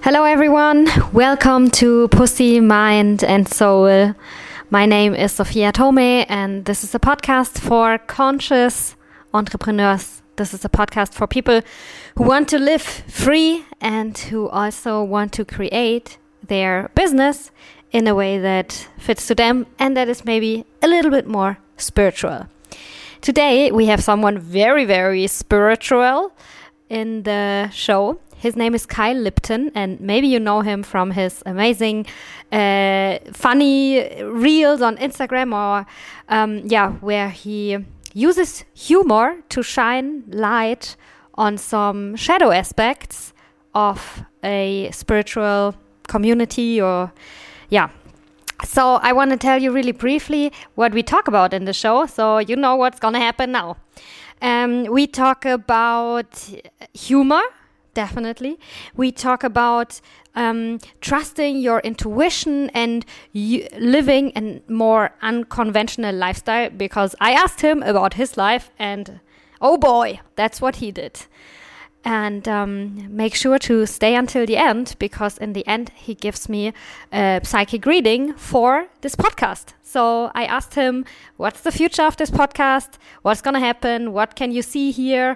Hello, everyone. Welcome to Pussy, Mind, and Soul. My name is Sophia Tome, and this is a podcast for conscious entrepreneurs. This is a podcast for people who want to live free and who also want to create their business in a way that fits to them and that is maybe a little bit more spiritual. Today, we have someone very, very spiritual in the show. His name is Kyle Lipton, and maybe you know him from his amazing, funny reels on Instagram where he uses humor to shine light on some shadow aspects of a spiritual community So I want to tell you really briefly what we talk about in the show, so you know what's going to happen now. We talk about humor. Definitely. We talk about trusting your intuition and living a more unconventional lifestyle, because I asked him about his life and oh boy, that's what he did. And make sure to stay until the end, because in the end he gives me a psychic reading for this podcast. So I asked him, what's the future of this podcast? What's going to happen? What can you see here?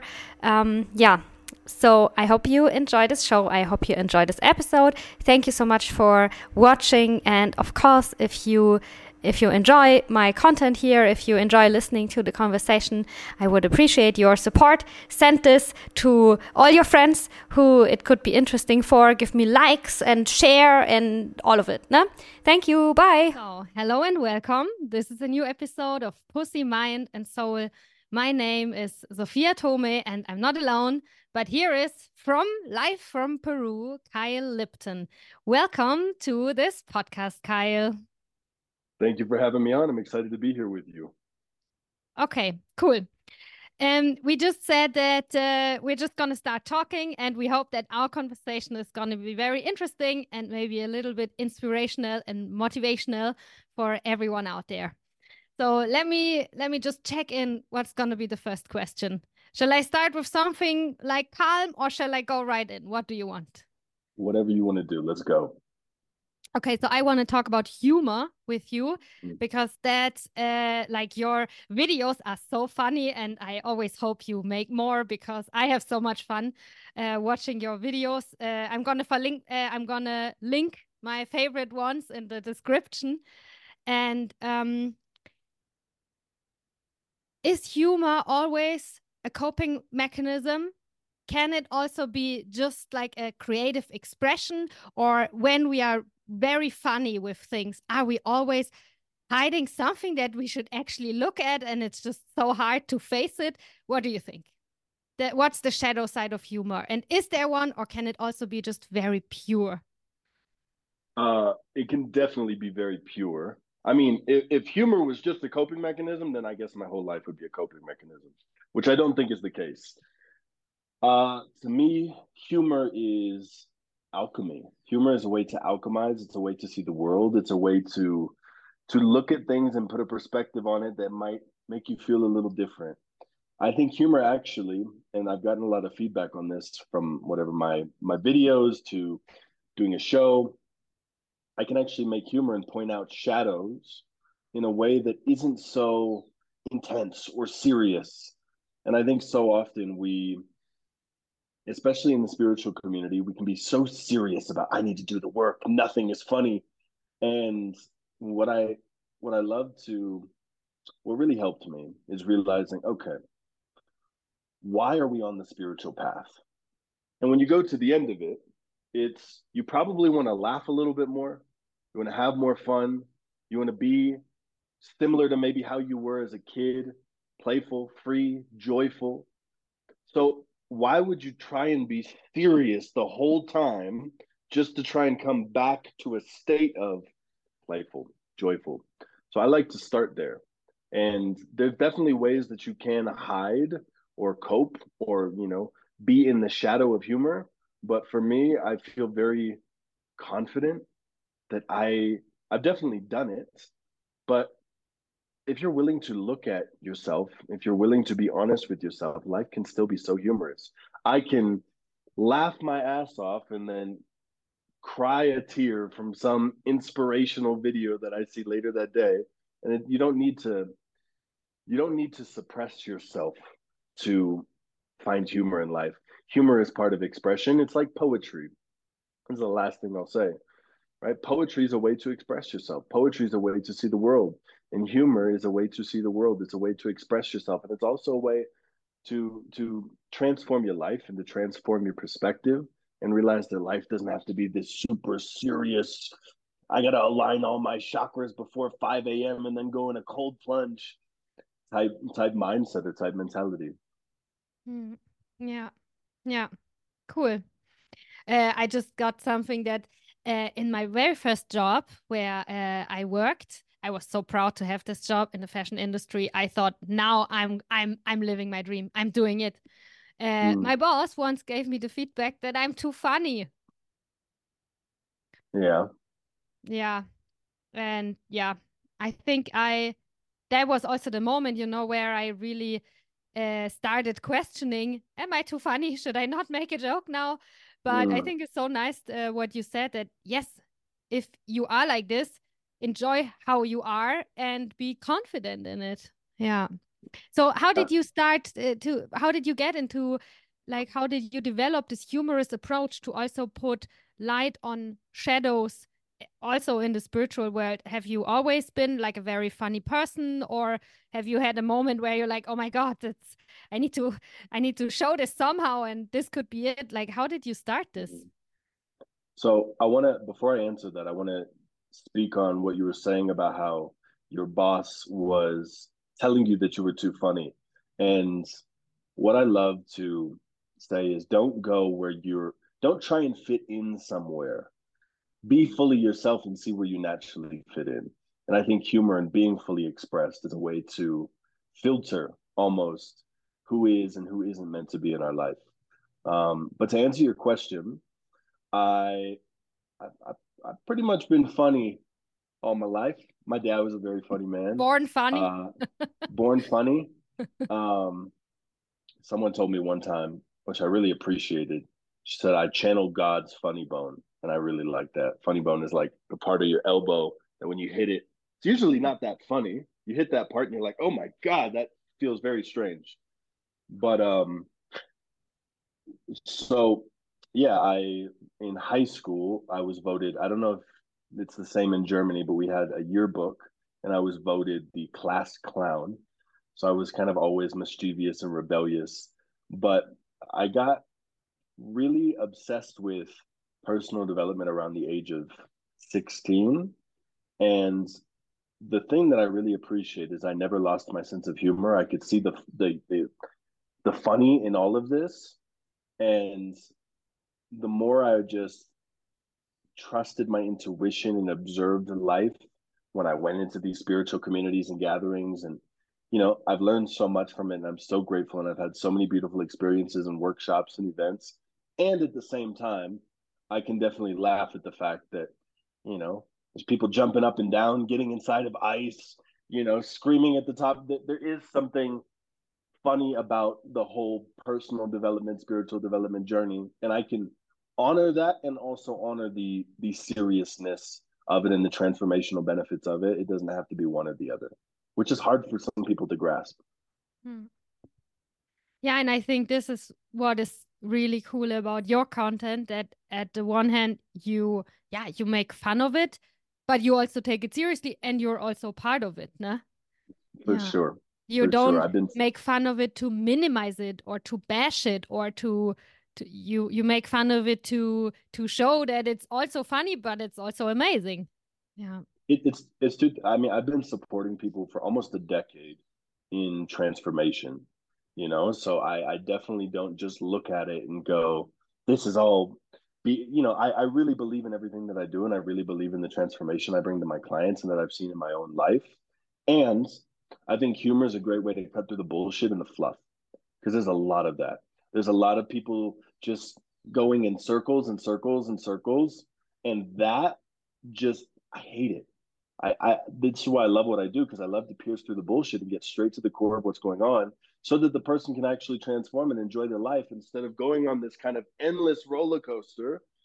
So I hope you enjoy this show. I hope you enjoy this episode. Thank you so much for watching. And of course, if you enjoy my content here, if you enjoy listening to the conversation, I would appreciate your support. Send this to all your friends who it could be interesting for. Give me likes and share and all of it. No? Thank you. Bye. So, hello and welcome. This is a new episode of Pussy, Mind, and Soul. My name is Sophia Tome, and I'm not alone. But here is live from Peru, Kyle Lipton. Welcome to this podcast, Kyle. Thank you for having me on. I'm excited to be here with you. Okay, cool. We just said that we're just going to start talking, and we hope that our conversation is going to be very interesting and maybe a little bit inspirational and motivational for everyone out there. So let me just check in what's going to be the first question. Shall I start with something like calm, or shall I go right in? What do you want? Whatever you want to do. Let's go. Okay, so I want to talk about humor with you, because that's your videos are so funny, and I always hope you make more, because I have so much fun watching your videos. I'm gonna link my favorite ones in the description. And is humor always a coping mechanism? Can it also be just like a creative expression? Or when we are very funny with things, are we always hiding something that we should actually look at, and it's just so hard to face it? What do you think? What's the shadow side of humor? And is there one, or can it also be just very pure? It can definitely be very pure. I mean, if humor was just a coping mechanism, then I guess my whole life would be a coping mechanism, which I don't think is the case. To me, humor is alchemy. Humor is a way to alchemize. It's a way to see the world. It's a way to look at things and put a perspective on it that might make you feel a little different. I think humor actually, and I've gotten a lot of feedback on this from whatever my videos to doing a show. I can actually make humor and point out shadows in a way that isn't so intense or serious. And I think so often we, especially in the spiritual community, we can be so serious about, I need to do the work. Nothing is funny. And what really helped me is realizing, okay, why are we on the spiritual path? And when you go to the end of it, you probably want to laugh a little bit more. You want to have more fun. You want to be similar to maybe how you were as a kid, playful, free, joyful. So why would you try and be serious the whole time just to try and come back to a state of playful, joyful? So I like to start there. And there's definitely ways that you can hide or cope or, be in the shadow of humor. But for me, I feel very confident that I've definitely done it. But if you're willing to look at yourself, if you're willing to be honest with yourself, life can still be so humorous. I can laugh my ass off and then cry a tear from some inspirational video that I see later that day. And you don't need to suppress yourself to find humor in life. Humor is part of expression. It's like poetry. This is the last thing I'll say, right? Poetry is a way to express yourself. Poetry is a way to see the world. And humor is a way to see the world. It's a way to express yourself. And it's also a way to transform your life and to transform your perspective and realize that life doesn't have to be this super serious. I gotta align all my chakras before 5 a.m. and then go in a cold plunge type mindset or type mentality. Yeah, yeah, cool. I just got something that in my very first job where I worked, I was so proud to have this job in the fashion industry. I thought, now I'm living my dream. I'm doing it. My boss once gave me the feedback that I'm too funny. Yeah. Yeah. And yeah, I think that was also the moment, where I really started questioning, am I too funny? Should I not make a joke now? But I think it's so nice what you said, that yes, if you are like this, enjoy how you are and be confident in it. Yeah. So how did you start how did you get into, like, how did you develop this humorous approach to also put light on shadows also in the spiritual world? Have you always been like a very funny person, or have you had a moment where you're like, oh my God, that's I need to show this somehow and this could be it? Like, how did you start this? So before I answer that, I want to speak on what you were saying about how your boss was telling you that you were too funny. And what I love to say is don't try and fit in somewhere. Be fully yourself and see where you naturally fit in. And I think humor and being fully expressed is a way to filter almost who is and who isn't meant to be in our life. But to answer your question, I I've pretty much been funny all my life. My dad was a very funny man. Born funny? Uh, Born funny. Um, Someone told me one time, which I really appreciated. She said I channeled God's funny bone, and I really like that. Funny bone is like the part of your elbow that when you hit it, it's usually not that funny. You hit that part and you're like, oh my God, that feels very strange. But so yeah, I in high school I was voted. I don't know if it's the same in Germany, but we had a yearbook, and I was voted the class clown. So I was kind of always mischievous and rebellious, but I got really obsessed with personal development around the age of 16. And the thing that I really appreciate is I never lost my sense of humor. I could see the funny in all of this. And the more I just trusted my intuition and observed life when I went into these spiritual communities and gatherings, and I've learned so much from it, and I'm so grateful, and I've had so many beautiful experiences and workshops and events. And at the same time, I can definitely laugh at the fact that there's people jumping up and down, getting inside of ice, screaming at the top. There is something funny about the whole personal development, spiritual development journey, and I can honor that and also honor the seriousness of it and the transformational benefits of it. It doesn't have to be one or the other, which is hard for some people to grasp. Hmm. Yeah, and I think this is what is really cool about your content, that at the one hand you make fun of it, but you also take it seriously and you're also part of it, nah? For Yeah. sure. You For sure. don't I've been make fun of it to minimize it or to bash it or to you make fun of it to show that it's also funny, but it's also amazing. Yeah. it's too I mean, I've been supporting people for almost a decade in transformation, so I definitely don't just look at it and go, this is all I really believe in everything that I do, and I really believe in the transformation I bring to my clients and that I've seen in my own life. And I think humor is a great way to cut through the bullshit and the fluff, because there's a lot of that. There's a lot of people just going in circles and circles and circles, and that just I hate it. That's why I love what I do, because I love to pierce through the bullshit and get straight to the core of what's going on, so that the person can actually transform and enjoy their life instead of going on this kind of endless roller coaster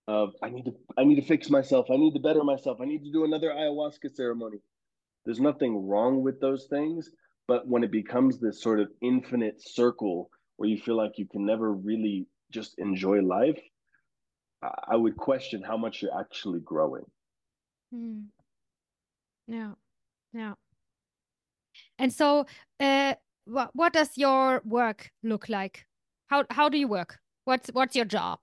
of I need to fix myself, I need to better myself, I need to do another ayahuasca ceremony. There's nothing wrong with those things, but when it becomes this sort of infinite circle where you feel like you can never really just enjoy life, I would question how much you're actually growing. Mm. Yeah. Yeah. And so, what does your work look like? How do you work? What's your job?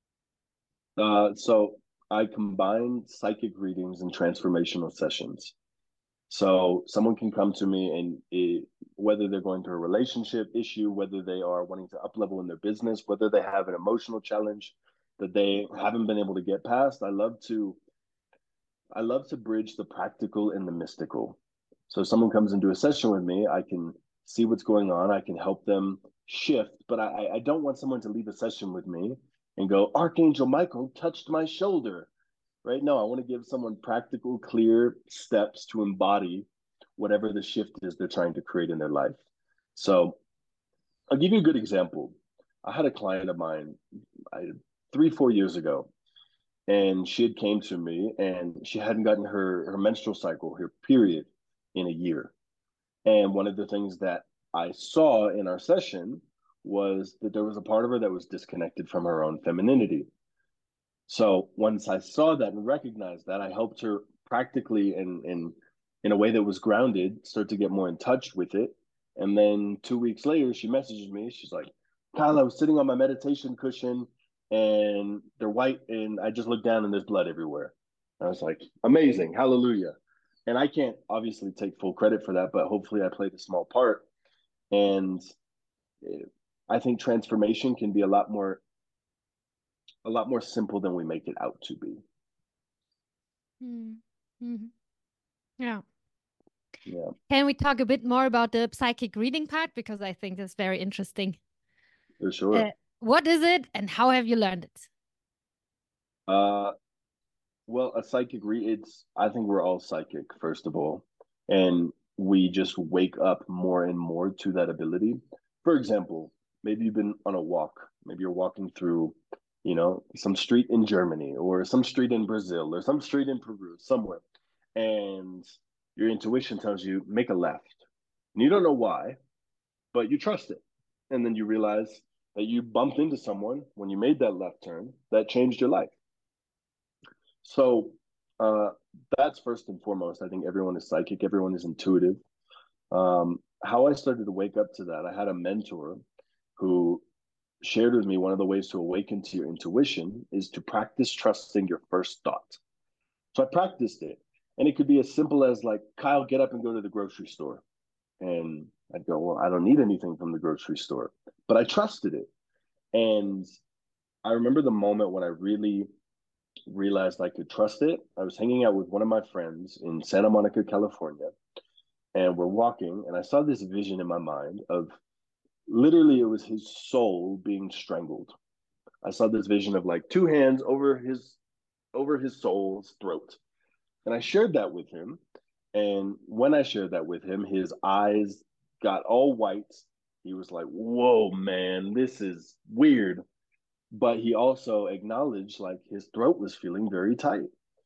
So I combine psychic readings and transformational sessions. So someone can come to me whether they're going through a relationship issue, whether they are wanting to up level in their business, whether they have an emotional challenge that they haven't been able to get past. I love to bridge the practical and the mystical. So if someone comes into a session with me, I can see what's going on. I can help them shift, but I don't want someone to leave a session with me and go, Archangel Michael touched my shoulder, right? No, I want to give someone practical, clear steps to embody whatever the shift is they're trying to create in their life. So I'll give you a good example. I had a client of mine 3, 4 years ago, and she had came to me and she hadn't gotten her menstrual cycle, her period, in a year. And one of the things that I saw in our session was that there was a part of her that was disconnected from her own femininity. So once I saw that and recognized that, I helped her practically in a way that was grounded, start to get more in touch with it. And then 2 weeks later, she messages me. She's like, Kyle, I was sitting on my meditation cushion and they're white, and I just looked down and there's blood everywhere. And I was like, amazing, hallelujah. And I can't obviously take full credit for that, but hopefully I played a small part. And I think transformation can be a lot more simple than we make it out to be. Mm. Mhm. Yeah. Yeah, Can we talk a bit more about the psychic reading part? Because I think that's very interesting. for Uh, sure. what is it and how have you learned it? Uh, well, a psychic it's, I think we're all psychic, first of all, and we just wake up more and more to that ability. For example, maybe you've been on a walk, maybe you're walking through, some street in Germany or some street in Brazil or some street in Peru, somewhere, and your intuition tells you make a left. And you don't know why, but you trust it. And then you realize that you bumped into someone when you made that left turn that changed your life. So uh, that's first and foremost. I think everyone is psychic, everyone is intuitive. How I started to wake up to that, I had a mentor who shared with me one of the ways to awaken to your intuition is to practice trusting your first thought. So I practiced it. And it could be as simple as like, Kyle, get up and go to the grocery store. And I'd go, well, I don't need anything from the grocery store. But I trusted it. And I remember the moment when I really realized I could trust it. I was hanging out with one of my friends in Santa Monica, California, and we're walking, and I saw this vision in my mind of literally it was his soul being strangled. I saw this vision of like two hands over his soul's throat. And I shared that with him. And when I shared that with him, his eyes got all white. He was like, "Whoa, man, this is weird." But he also acknowledged like his throat was feeling very tight.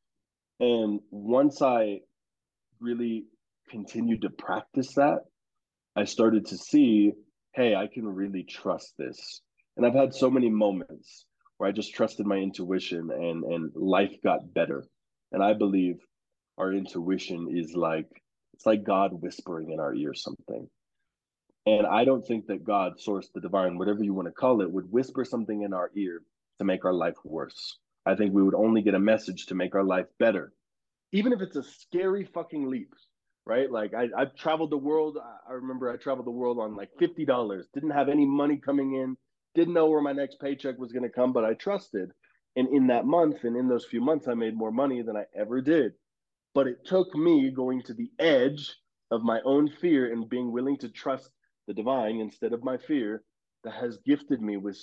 And once I really continued to practice that, I started to see, hey, I can really trust this. And I've had so many moments where I just trusted my intuition and life got better. And I believe our intuition is like it's like God whispering in our ear something. And I don't think that God, source, the divine, whatever you want to call it, would whisper something in our ear to make our life worse. I think we would only get a message to make our life better, even if it's a scary fucking leap, right? Like I've traveled the world. I remember I traveled the world on like $50, didn't have any money coming in, didn't know where my next paycheck was going to come, but I trusted. And in that month and in those few months, I made more money than I ever did. But it took me going to the edge of my own fear and being willing to trust the divine instead of my fear that has gifted me with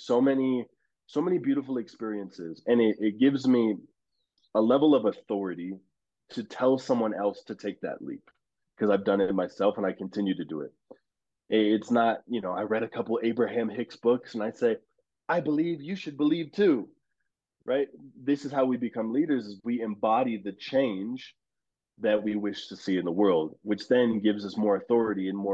so many beautiful experiences. And it gives me a level of authority to tell someone else to take that leap because I've done it myself and I continue to do it. It's not, I read a couple Abraham Hicks books and I say, I believe you should believe too. right? This is how we become leaders: is we embody the change that we wish to see in the world, which then gives us more authority and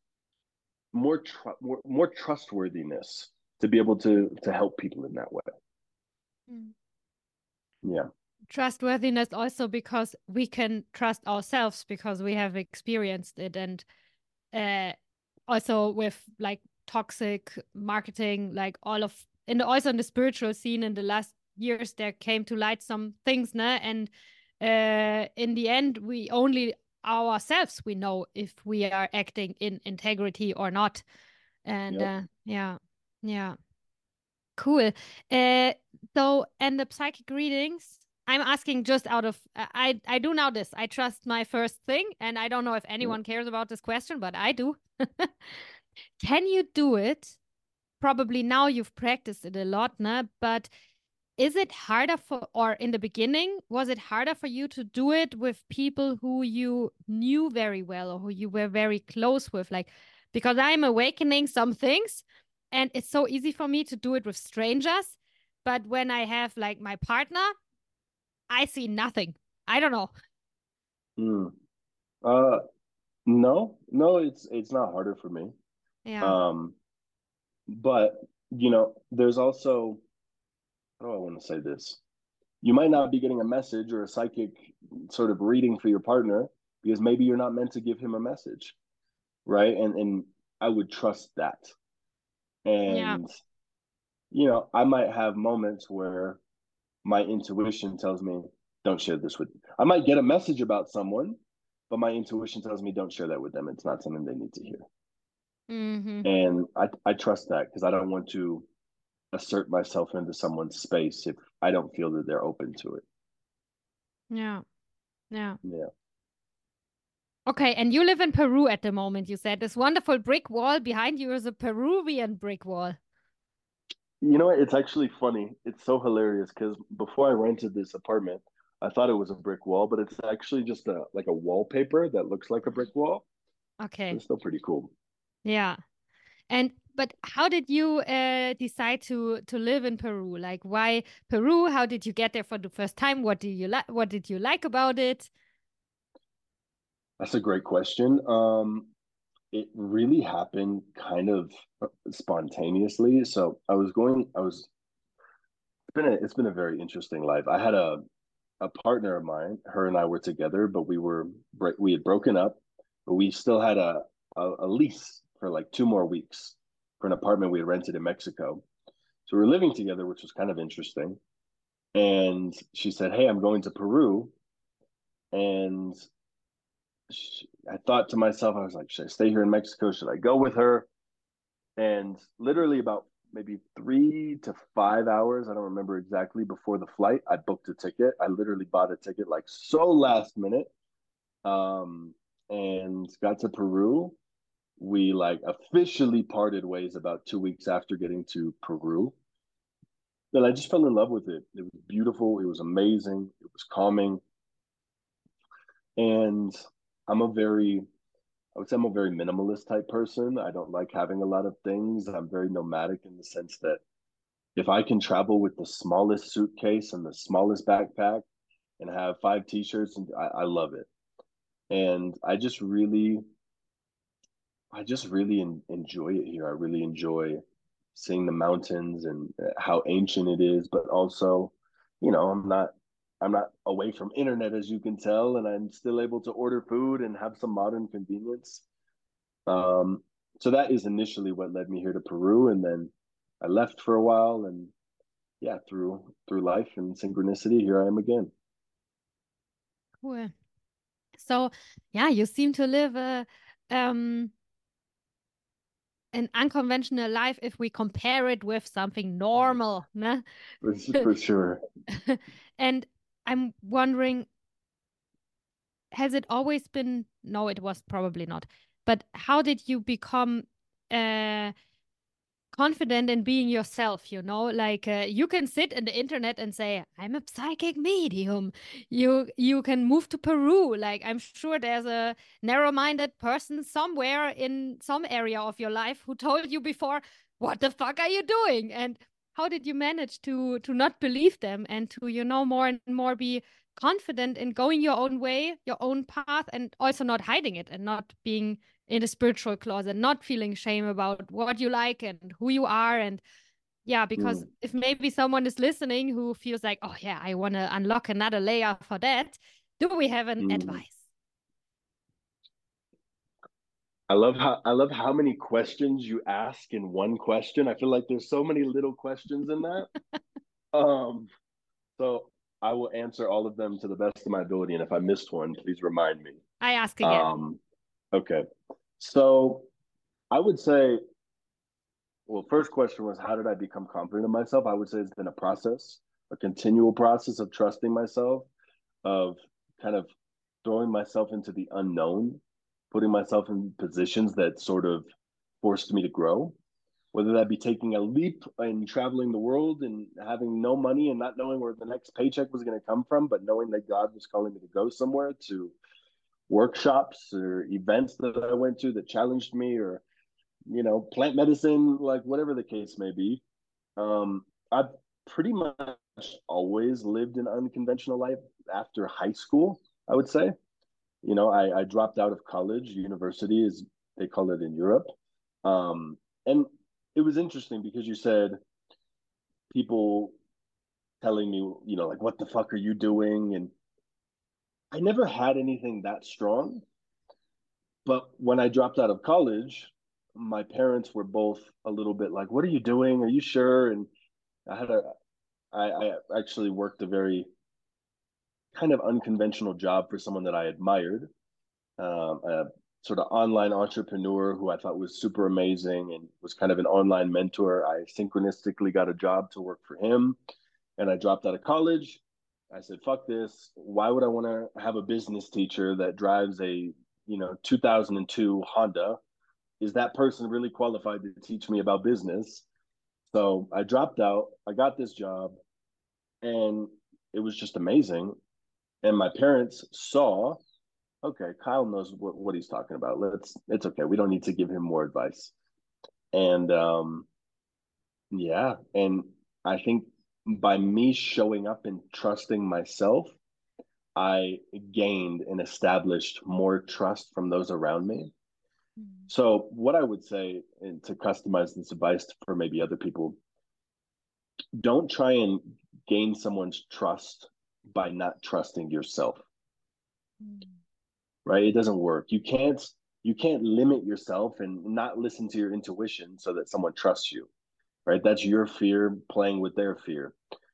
more trustworthiness to be able to help people in that way. Mm. Yeah. Trustworthiness also because we can trust ourselves because we have experienced it, and uh, also with like toxic marketing, like all of, and also in the spiritual scene in the last years, there came to light some things, nah? And in the end, we only ourselves we know if we are acting in integrity or not. And Yep. yeah, yeah. Cool. Uh, so, and the psychic readings, I'm asking just out of, I do now this. I trust my first thing, and I don't know if Yep. anyone cares about this question, but I do. Can you do it? Probably now you've practiced it a lot, nah? But is it harder for, or in the beginning, was it harder for you to do it with people who you knew very well or who you were very close with? Like, because I'm awakening some things and it's so easy for me to do it with strangers. But when I have like my partner, I see nothing. I don't know. Mm. Uh, no, it's not harder for me. Yeah. Um, but there's also, how do I want to say this? You might not be getting a message or a psychic sort of reading for your partner because maybe you're not meant to give him a message, right? And I would trust that. Yeah. And I might have moments where my intuition tells me, don't share this with. I might get a message about someone, but my intuition tells me don't share that with them. It's not something they need to hear. Mm-hmm. And I trust that because I don't want to assert myself into someone's space if I don't feel that they're open to it. Yeah. Yeah. Yeah. Okay, and you live in Peru at the moment, you said. This wonderful brick wall behind you is a Peruvian brick wall. You know what? It's actually funny. It's so hilarious because before I rented this apartment, I thought it was a brick wall, but it's actually just a like a wallpaper that looks like a brick wall. But Okay. it's still pretty cool. Yeah. And but how did you decide to live in Peru? Like why Peru? How did you get there for the first time? What do you like? What did you like about it? That's a great question. It really happened kind of spontaneously. So I was it's been a very interesting life. I had a partner of mine, her and I were together, but we had broken up, but we still had a lease for like 2 more weeks for an apartment we had rented in Mexico. So we were living together, which was kind of interesting. And she said, "Hey, I'm going to Peru." And I thought to myself, I was like, should I stay here in Mexico? Should I go with her? And literally about maybe 3 to 5 hours, I don't remember exactly, before the flight, I booked a ticket. I literally bought a ticket like so last minute, um, and got to Peru. We like officially parted ways about 2 weeks after getting to Peru. And I just fell in love with it. It was beautiful. It was amazing. It was calming. And I'm a very, I would say I'm a very minimalist type person. I don't like having a lot of things. I'm very nomadic in the sense that if I can travel with the smallest suitcase and the smallest backpack and have 5 t-shirts, and I love it. And I just really enjoy it here. I really enjoy seeing the mountains and how ancient it is, but also, I'm not away from internet as you can tell, and I'm still able to order food and have some modern convenience. Um, so that is initially what led me here to Peru, and then I left for a while, and yeah, through life and synchronicity, here I am again. Cool. So yeah, you seem to live a um an unconventional life if we compare it with something normal, ne? For sure. And I'm wondering, has it always been? No, it was probably not. But how did you become uh confident in being yourself, like you can sit in the internet and say I'm a psychic medium. You can move to Peru. Like I'm sure there's a narrow-minded person somewhere in some area of your life who told you before, what the fuck are you doing? And how did you manage to not believe them and to, you know, more and more be confident in going your own way, your own path, and also not hiding it and not being in a spiritual closet, not feeling shame about what you like and who you are. And yeah, because if maybe someone is listening who feels like, oh yeah, I want to unlock another layer for that, do we have an advice? I love how many questions you ask in one question. I feel like there's so many little questions in that. Um, so I will answer all of them to the best of my ability, and if I missed one, please remind me. I ask again. Okay. So I would say, well, first question was how did I become confident in myself? I would say it's been a process, a continual process of trusting myself, of kind of throwing myself into the unknown, putting myself in positions that sort of forced me to grow, whether that be taking a leap and traveling the world and having no money and not knowing where the next paycheck was going to come from, but knowing that God was calling me to go somewhere, to workshops or events that I went to that challenged me, or, you know, plant medicine, like whatever the case may be. I've pretty much always lived an unconventional life after high school, I would say. You know, I dropped out of college. University, is they call it in Europe. And it was interesting because you said people telling me, you know, like, what the fuck are you doing? And I never had anything that strong. But when I dropped out of college, my parents were both a little bit like, what are you doing? Are you sure? And I had a, I actually worked a very kind of unconventional job for someone that I admired, a sort of online entrepreneur who I thought was super amazing and was kind of an online mentor. I synchronistically got a job to work for him, and I dropped out of college. I said, fuck this. Why would I want to have a business teacher that drives a, you know, 2002 Honda? Is that person really qualified to teach me about business? So I dropped out. I got this job, and it was just amazing. And my parents saw, okay, Kyle knows what he's talking about. It's okay. We don't need to give him more advice. And yeah, and I think by me showing up and trusting myself, I gained and established more trust from those around me. So what I would say, and to customize this advice for maybe other people, don't try and gain someone's trust by not trusting yourself. Right? It doesn't work. You can't limit yourself and not listen to your intuition so that someone trusts you. Right? That's your fear playing with their fear.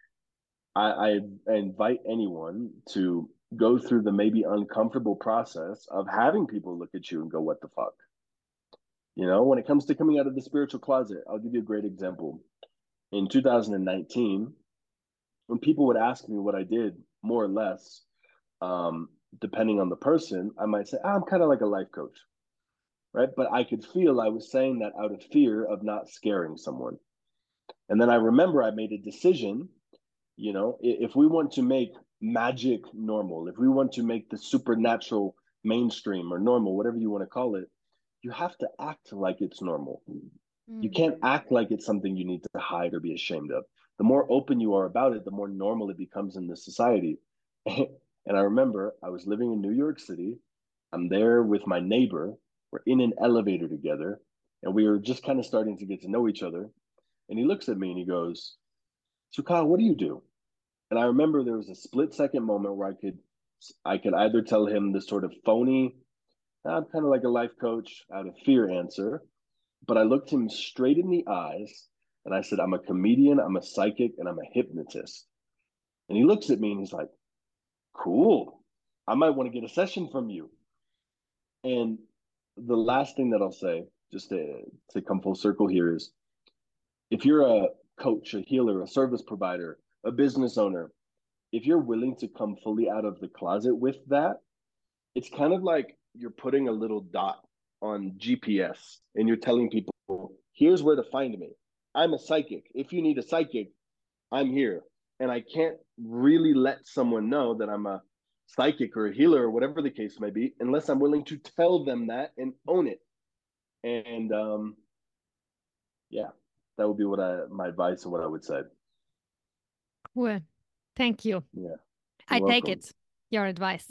I invite anyone to go through the maybe uncomfortable process of having people look at you and go, what the fuck? You know, when it comes to coming out of the spiritual closet, I'll give you a great example. In 2019, when people would ask me what I did, more or less, depending on the person, I might say, I'm kind of like a life coach, right? But I could feel I was saying that out of fear of not scaring someone. And then I remember I made a decision, you know, if we want to make magic normal, if we want to make the supernatural mainstream or normal, whatever you want to call it, you have to act like it's normal. You can't act like it's something you need to hide or be ashamed of. The more open you are about it, the more normal it becomes in this society. And I remember I was living in New York City. I'm there with my neighbor. We're in an elevator together, and we were just kind of starting to get to know each other. And he looks at me and he goes, so Kyle, what do you do? And I remember there was a split second moment where I could either tell him this sort of phony, I'm kind of like a life coach out of fear answer, but I looked him straight in the eyes and I said, I'm a comedian, I'm a psychic, and I'm a hypnotist. And he looks at me and he's like, cool. I might want to get a session from you. And the last thing that I'll say, just to come full circle here, is if you're a coach, a healer, a service provider, a business owner, if you're willing to come fully out of the closet with that, it's kind of like you're putting a little dot on GPS and you're telling people, here's where to find me. I'm a psychic. If you need a psychic, I'm here. And I can't really let someone know that I'm a psychic or a healer or whatever the case may be unless I'm willing to tell them that and own it. And yeah. that would be my advice and what I would say. Cool. Thank you. Yeah, I you're take welcome. it, your advice.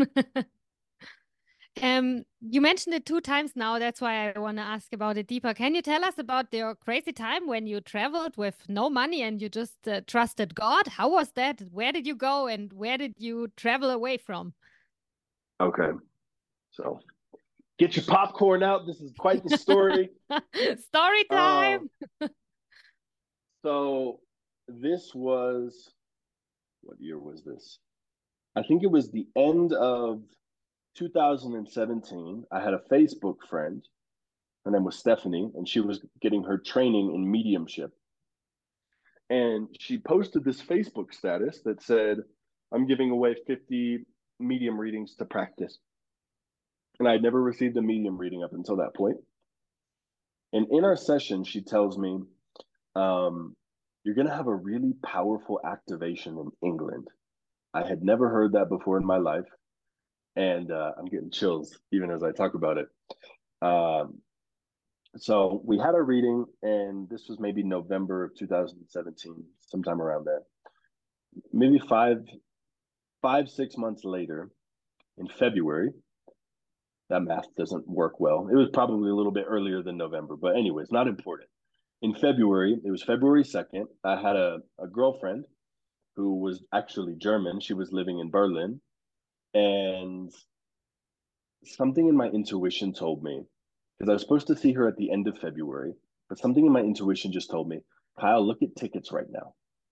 You mentioned it 2 times now. That's why I want to ask about it deeper. Can you tell us about your crazy time when you traveled with no money and you just trusted God? How was that? Where did you go and where did you travel away from? Okay, so get your popcorn out. This is quite the story. Story Uh, time. so this was, what year was this? I think it was the end of 2017. I had a Facebook friend. Her name was Stephanie, and she was getting her training in mediumship. And she posted this Facebook status that said, I'm giving away 50 medium readings to practice. And I'd never received a medium reading up until that point. And in our session, she tells me, um, you're going to have a really powerful activation in England. I had never heard that before in my life. And I'm getting chills even as I talk about it. Um, so we had a reading, and this was maybe November of 2017, sometime around there. Maybe 6 months later, in February, that math doesn't work well. It was probably a little bit earlier than November, but anyways, not important. In February, it was February 2nd. I had a girlfriend who was actually German. She was living in Berlin. And something in my intuition told me, because I was supposed to see her at the end of February, but something in my intuition just told me, Kyle, look at tickets right now.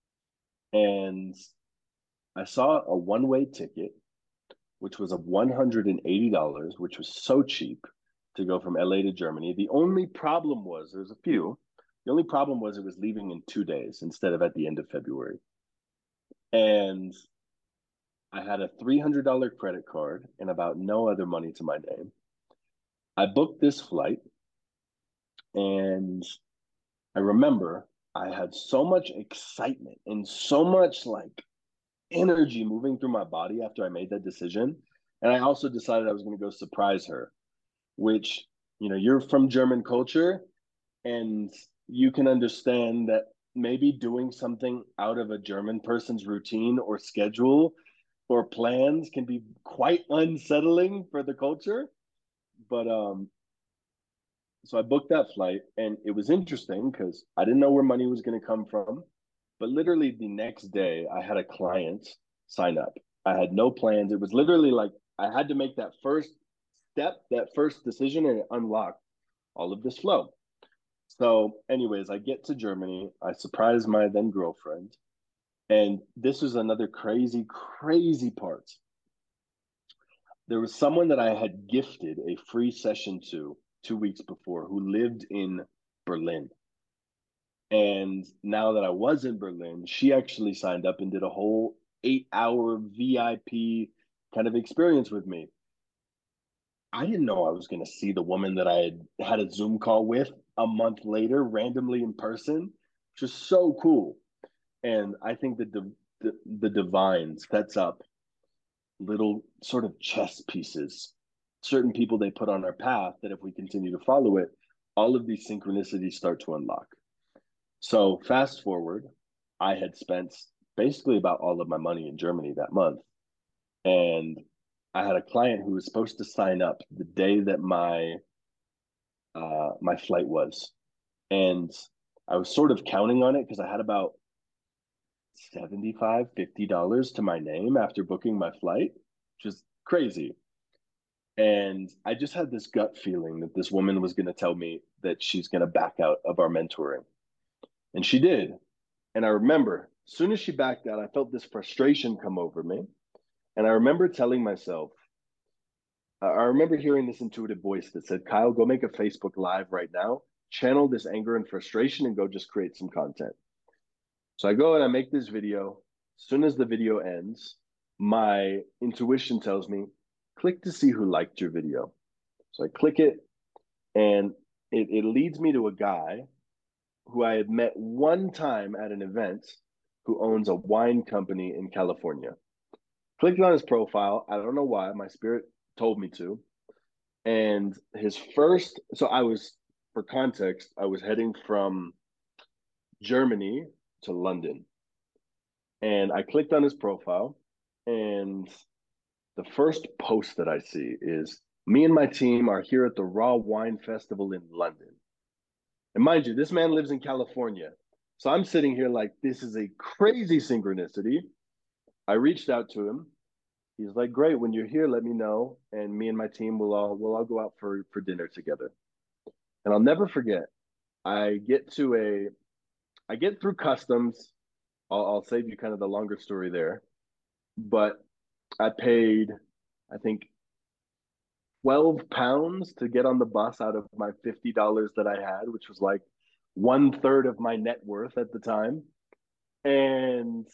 And I saw a one-way ticket, which was of $180, which was so cheap to go from LA to Germany. The only problem was, there's a few. The only problem was it was leaving in 2 days instead of at the end of February. And I had a $300 credit card and about no other money to my name. I booked this flight, and I remember I had so much excitement and so much like energy moving through my body after I made that decision. And I also decided I was going to go surprise her, which, you're from German culture and you can understand that maybe doing something out of a German person's routine or schedule or plans can be quite unsettling for the culture. But so I booked that flight, and it was interesting because I didn't know where money was going to come from. But literally the next day, I had a client sign up. I had no plans. It was literally like I had to make that first step, that first decision, and it unlocked all of this flow. So, anyways, I get to Germany. I surprise my then girlfriend. And this is another crazy, crazy part. There was someone that I had gifted a free session to 2 weeks before who lived in Berlin. And now that I was in Berlin, she actually signed up and did a whole 8-hour VIP kind of experience with me. I didn't know I was going to see the woman that I had a Zoom call with a month later, randomly in person, which is so cool. And I think that the divine sets up little sort of chess pieces, certain people they put on our path that if we continue to follow it, all of these synchronicities start to unlock. So fast forward, I had spent basically about all of my money in Germany that month. And I had a client who was supposed to sign up the day that my flight was. And I was sort of counting on it because I had about 75 $50 to my name after booking my flight, which is crazy. And I just had this gut feeling that this woman was going to tell me that she's going to back out of our mentoring. And she did. And I remember as soon as she backed out, I felt this frustration come over me. And I remember telling myself, I remember hearing this intuitive voice that said, Kyle, go make a Facebook Live right now, channel this anger and frustration, and go just create some content. So I go and I make this video. As soon as the video ends, my intuition tells me, click to see who liked your video. So I click it, and it leads me to a guy who I had met one time at an event who owns a wine company in California. Clicked on his profile. I don't know why. My spirit told me to. And his first, so I was, for context, I was heading from Germany to London. And I clicked on his profile, and the first post that I see is me and my team are here at the Raw Wine Festival in London. And mind you, this man lives in California. So I'm sitting here like, this is a crazy synchronicity. I reached out to him. He's like, great, when you're here, let me know. And me and my team will all go out for dinner together. And I'll never forget, I get to a I get through customs. I'll save you kind of the longer story there. But I paid, I think, £12 to get on the bus out of my $50 that I had, which was like one third of my net worth at the time. And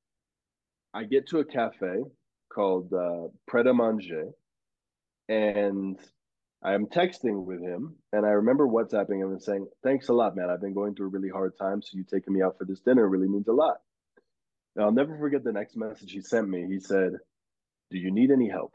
I get to a cafe called Pret a Manger, and I'm texting with him. And I remember WhatsApping him and saying, thanks a lot, man. I've been going through a really hard time. So you taking me out for this dinner really means a lot. And I'll never forget the next message he sent me. He said, do you need any help?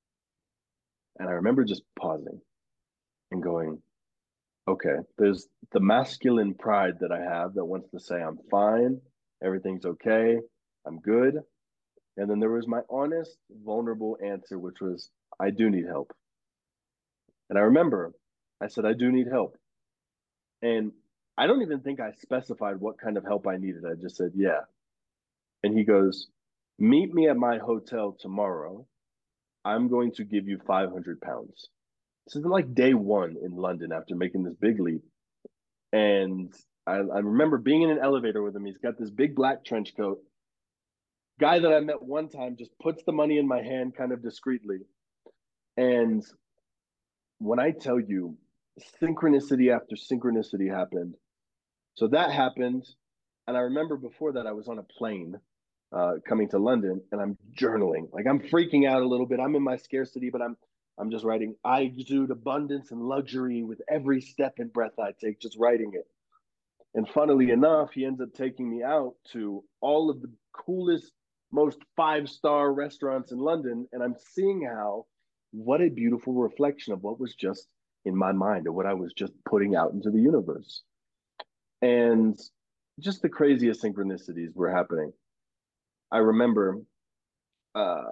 And I remember just pausing and going, okay, there's the masculine pride that I have that wants to say, I'm fine, everything's okay, I'm good. And then there was my honest, vulnerable answer, which was, I do need help. And I remember I said, I do need help. And I don't even think I specified what kind of help I needed. I just said, yeah. And he goes, meet me at my hotel tomorrow. I'm going to give you £500. This is like day one in London after making this big leap. And I remember being in an elevator with him. He's got this big black trench coat. Guy that I met one time just puts the money in my hand kind of discreetly. And when I tell you synchronicity after synchronicity happened, so that happened. And I remember before that, I was on a plane coming to London, and I'm journaling. Like I'm freaking out a little bit. I'm in my scarcity, but I'm just writing. I exude abundance and luxury with every step and breath I take, just writing it. And funnily enough, he ends up taking me out to all of the coolest, most five-star restaurants in London. And I'm seeing how, what a beautiful reflection of what was just in my mind or what I was just putting out into the universe. And just the craziest synchronicities were happening. I remember uh,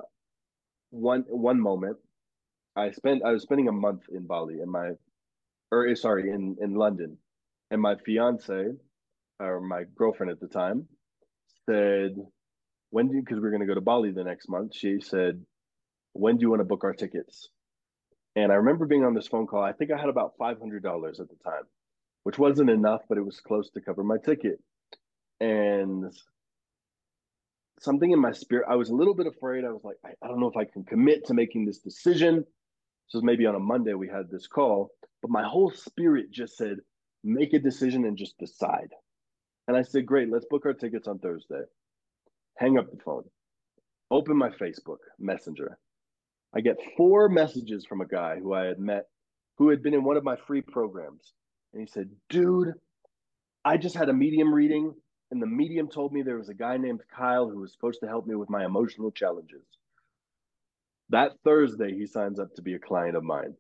one moment I was spending a month in Bali and in London, and my fiance or my girlfriend at the time said, when do you, because we are going to go to Bali the next month, she said, when do you want to book our tickets? And I remember being on this phone call. I think I had about $500 at the time, which wasn't enough, but it was close to cover my ticket. And something in my spirit, I was a little bit afraid. I was like, I don't know if I can commit to making this decision. So maybe on a Monday we had this call, but my whole spirit just said, make a decision and just decide. And I said, great, let's book our tickets on Thursday. Hang up the phone, open my Facebook Messenger. I get 4 messages from a guy who I had met, who had been in one of my free programs. And he said, dude, I just had a medium reading, and the medium told me there was a guy named Kyle who was supposed to help me with my emotional challenges. That Thursday, he signs up to be a client of mine.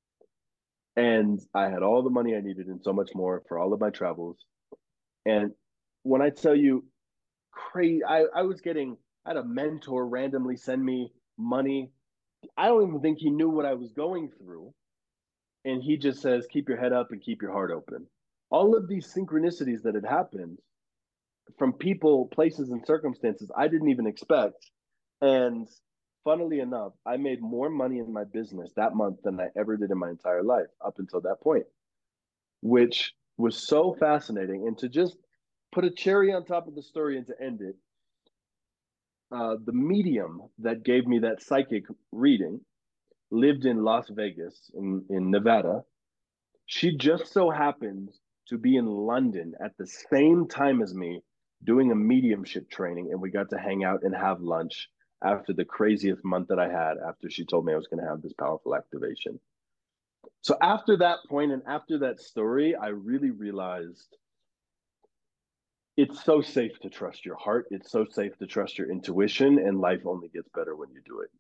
And I had all the money I needed and so much more for all of my travels. And when I tell you, crazy, I had a mentor randomly send me money. I don't even think he knew what I was going through. And he just says, keep your head up and keep your heart open. All of these synchronicities that had happened from people, places, and circumstances I didn't even expect. And funnily enough, I made more money in my business that month than I ever did in my entire life up until that point, which was so fascinating. And to just put a cherry on top of the story and to end it, the medium that gave me that psychic reading lived in Las Vegas in Nevada. She just so happened to be in London at the same time as me doing a mediumship training, and we got to hang out and have lunch after the craziest month that I had after she told me I was going to have this powerful activation. So after that point and after that story, I really realized it's so safe to trust your heart. It's so safe to trust your intuition, and life only gets better when you do it.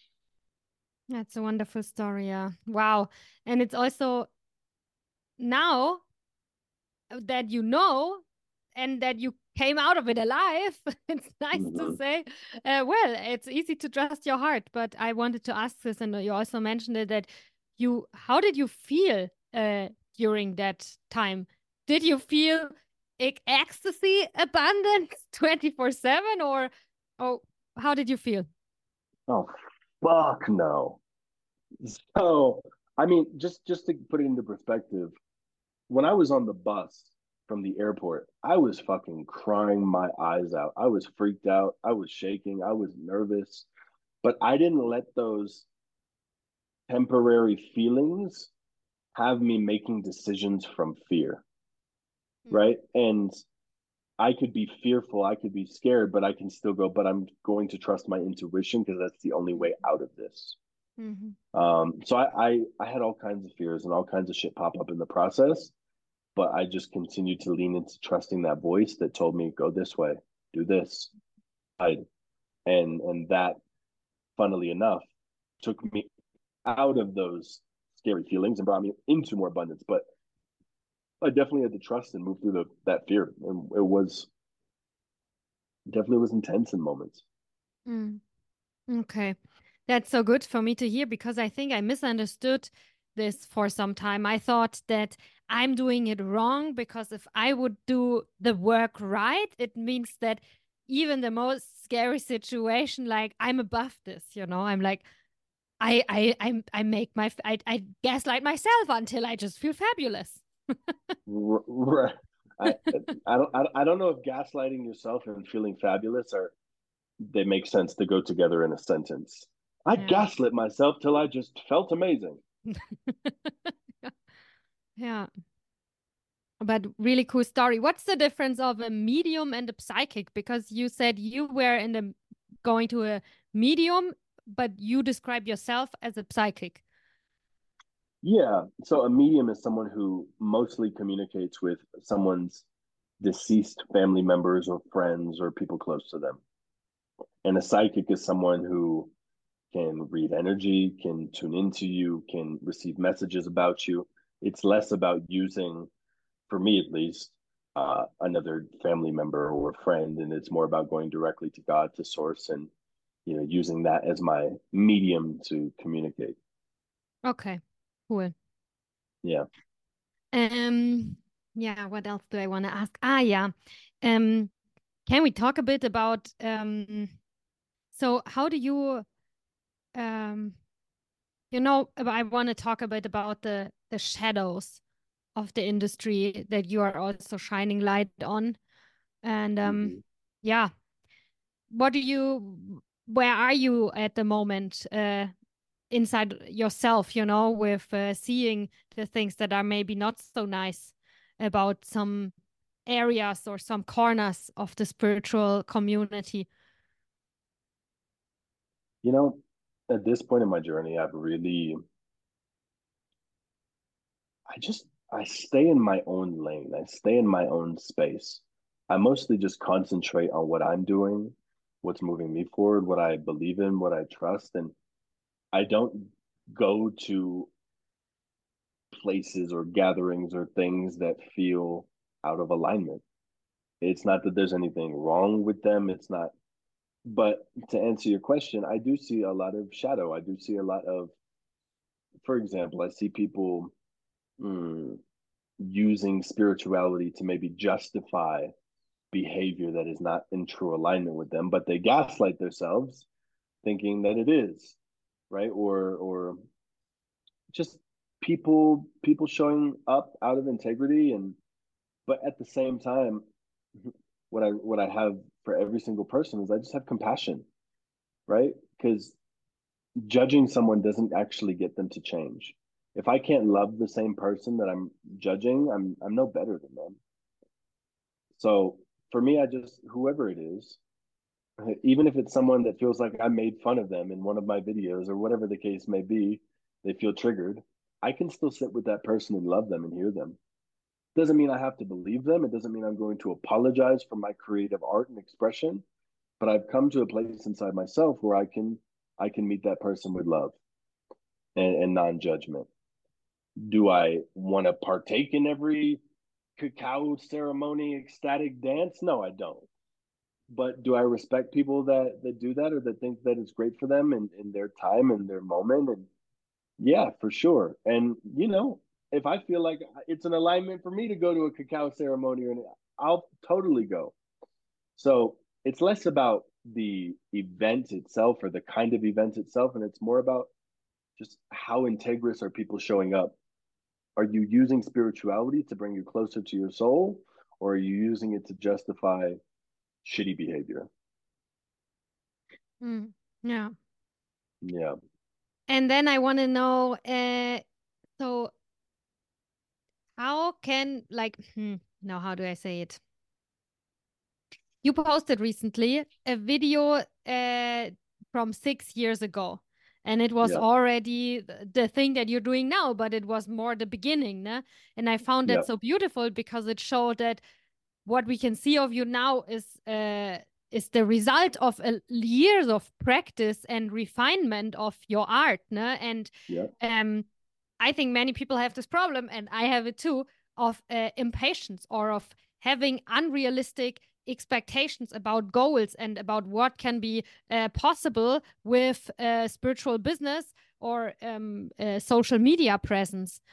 That's a wonderful story. Yeah. Wow. And it's also now that you know and that you came out of it alive. It's nice to say. Well, it's easy to trust your heart, but I wanted to ask this, and you also mentioned it, that how did you feel during that time? Did you feel ecstasy, abundance 24/7, or oh, how did you feel? Oh, fuck no. So, I mean, just to put it into perspective, when I was on the bus from the airport, I was fucking crying my eyes out. I was freaked out. I was shaking. I was nervous, but I didn't let those temporary feelings have me making decisions from fear, Mm. right? And I could be fearful, I could be scared, but I can still go, but I'm going to trust my intuition because that's the only way out of this. Mhm. So I had all kinds of fears and all kinds of shit pop up in the process, but I just continued to lean into trusting that voice that told me, go this way, do this. And that, funnily enough, took me out of those scary feelings and brought me into more abundance. But I definitely had to trust and move through that fear. And it was definitely was intense in moments. Mm. Okay. That's so good for me to hear because I think I misunderstood this for some time. I thought that I'm doing it wrong because if I would do the work right, it means that even the most scary situation, like I'm above this, I'm like, I make I gaslight myself until I just feel fabulous. Right. I I don't know if gaslighting yourself and feeling fabulous are they make sense to go together in a sentence. I Yeah. gaslit myself till I just felt amazing. Yeah. But really cool story. What's the difference of a medium and a psychic? Because you said you were in the going to a medium, but you describe yourself as a psychic. Yeah. So a medium is someone who mostly communicates with someone's deceased family members or friends or people close to them. And a psychic is someone who can read energy, can tune into you, can receive messages about you. It's less about using, for me at least, another family member or friend, and it's more about going directly to God, to source, and using that as my medium to communicate. Okay, cool. Yeah. Um, yeah, what else do I want to ask? Ah, yeah. Um, can we talk a bit about so how do you um I want to talk a bit about the shadows of the industry that you are also shining light on. And Mm-hmm. yeah, where are you at the moment inside yourself, with seeing the things that are maybe not so nice about some areas or some corners of the spiritual community? You know, at this point in my journey, I stay in my own lane. I stay in my own space. I mostly just concentrate on what I'm doing, what's moving me forward, what I believe in, what I trust, and I don't go to places or gatherings or things that feel out of alignment. It's not that there's anything wrong with them. It's not, but to answer your question, I do see a lot of shadow. I do see a lot of, for example, I see people mm, using spirituality to maybe justify behavior that is not in true alignment with them, but they gaslight themselves thinking that it is, right? Or just people showing up out of integrity, and but at the same time, what I have for every single person is I just have compassion, right? Because judging someone doesn't actually get them to change. If I can't love the same person that I'm judging, I'm no better than them. So for me, I just whoever it is, even if it's someone that feels like I made fun of them in one of my videos or whatever the case may be, they feel triggered. I can still sit with that person and love them and hear them. Doesn't mean I have to believe them. It doesn't mean I'm going to apologize for my creative art and expression, but I've come to a place inside myself where I can meet that person with love and non-judgment. Do I want to partake in every cacao ceremony, ecstatic dance? No, I don't. But do I respect people that do that or that think that it's great for them in their time and their moment? And yeah, for sure. And if I feel like it's an alignment for me to go to a cacao ceremony, I'll totally go. So it's less about the event itself or the kind of event itself, and it's more about just how integrous are people showing up. Are you using spirituality to bring you closer to your soul, or are you using it to justify shitty behavior? Yeah. Yeah. And then I want to know, so how can like, now how do I say it? You posted recently a video from 6 years ago, and it was Yeah. already the thing that you're doing now, but it was more the beginning, né? And I found that Yeah. so beautiful because it showed that what we can see of you now is the result of years of practice and refinement of your art, né? And Yeah. um, I think many people have this problem, and I have it too, of impatience or of having unrealistic expectations about goals and about what can be possible with spiritual business or social media presence.